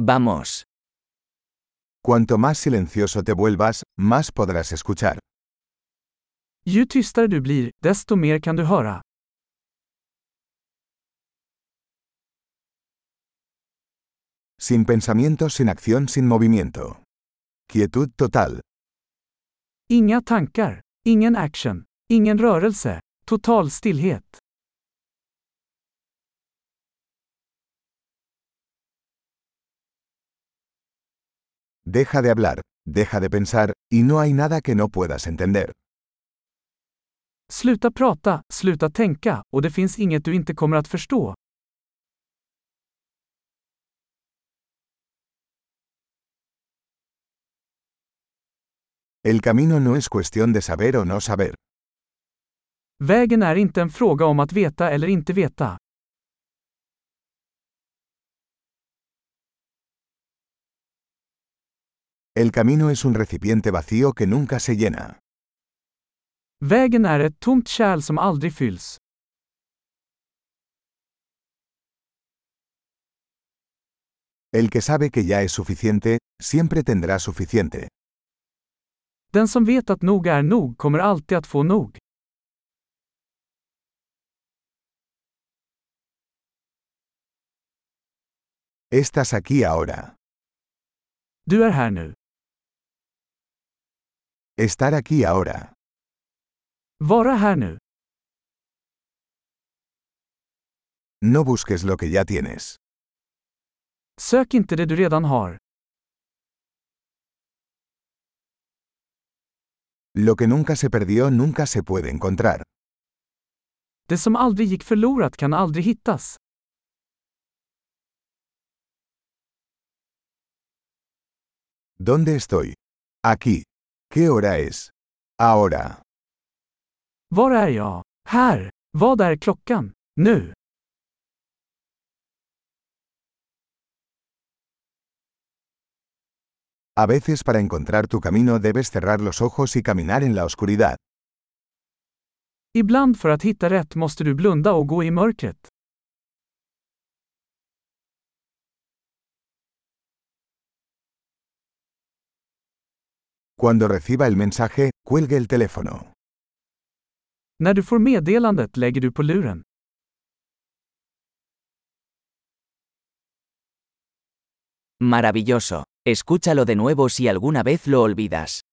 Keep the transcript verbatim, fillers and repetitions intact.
Vamos. Cuanto más silencioso te vuelvas, más podrás escuchar. Ju tystare du blir, desto mer kan du höra. Sin pensamiento, sin acción, sin movimiento. Quietud total. Inga tankar, ingen action, ingen rörelse, total stillhet. Deja de hablar, deja de pensar, y no hay nada que no puedas entender. Sluta prata, sluta tänka, och det finns inget du inte kommer att förstå. El camino no es cuestión de saber o no saber. Vägen är inte en fråga om att veta eller inte veta. El camino es un recipiente vacío que nunca se llena. Vägen är ett tomt kärl som aldrig fylls. El que sabe que ya es suficiente, siempre tendrá suficiente. Den som vet att nog är nog kommer alltid att få nog. Estás aquí ahora. Du är här nu. Estar aquí ahora. Vara här nu. No busques lo que ya tienes. Sök inte det du redan har. Lo que nunca se perdió nunca se puede encontrar. Det som aldrig gick förlorat kan aldrig hittas. ¿Dónde estoy? Aquí. ¿Qué hora es? Ahora. Var är jag? Här. Vad är klockan? Nu. A veces para encontrar tu camino debes cerrar los ojos y caminar en la oscuridad. Ibland för att hitta rätt måste du blunda och gå i mörkret. Cuando reciba el mensaje, cuelgue el teléfono. När du får meddelandet lägger du på luren. Maravilloso. Escúchalo de nuevo si alguna vez lo olvidas.